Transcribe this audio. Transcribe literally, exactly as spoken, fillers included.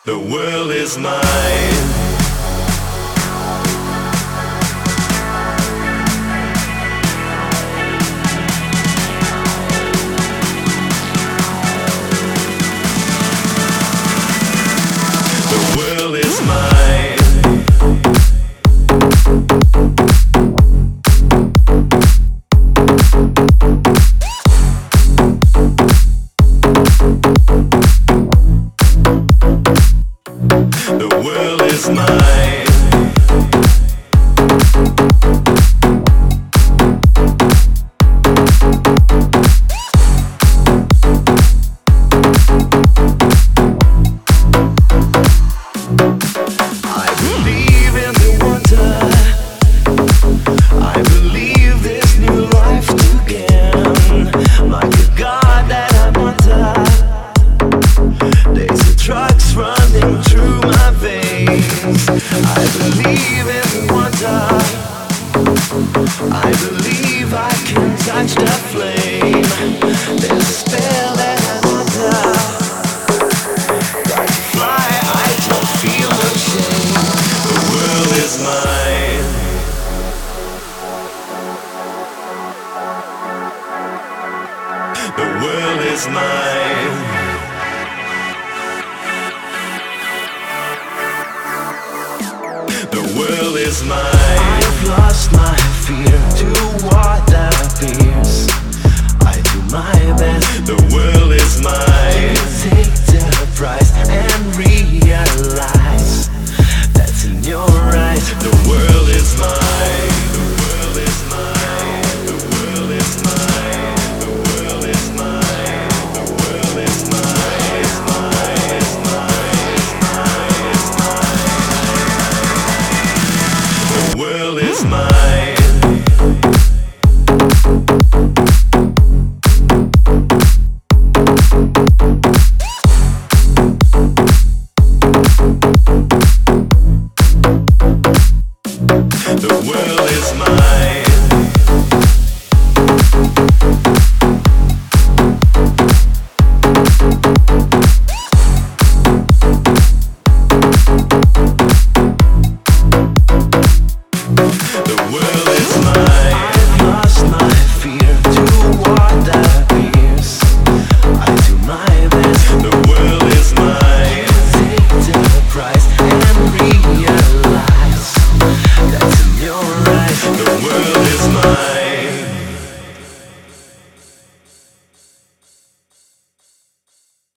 The world is mine. The world is mine. The world is mine. I believe in the wonder. I believe this new life to gain. Like a God that I wonder. There's the drugs running through my veins. I believe in the wonder. I believe I can touch the flame. There's a spell that I wonder. Like to fly, I don't feel no shame. The world is mine. The world is mine. The world is mine. I've lost my fear to what that appears. I do my best. The world is mine. Take the price and realize that's in your eyes. The world is mine. The world is mine. The world is mine. The world is mine. The world is mine. It's mine. It's mine. It's mine. It's mine. The world is mine. The world is mine. The world is mine. I've lost my fear to what that appears. I do my best. The world is mine.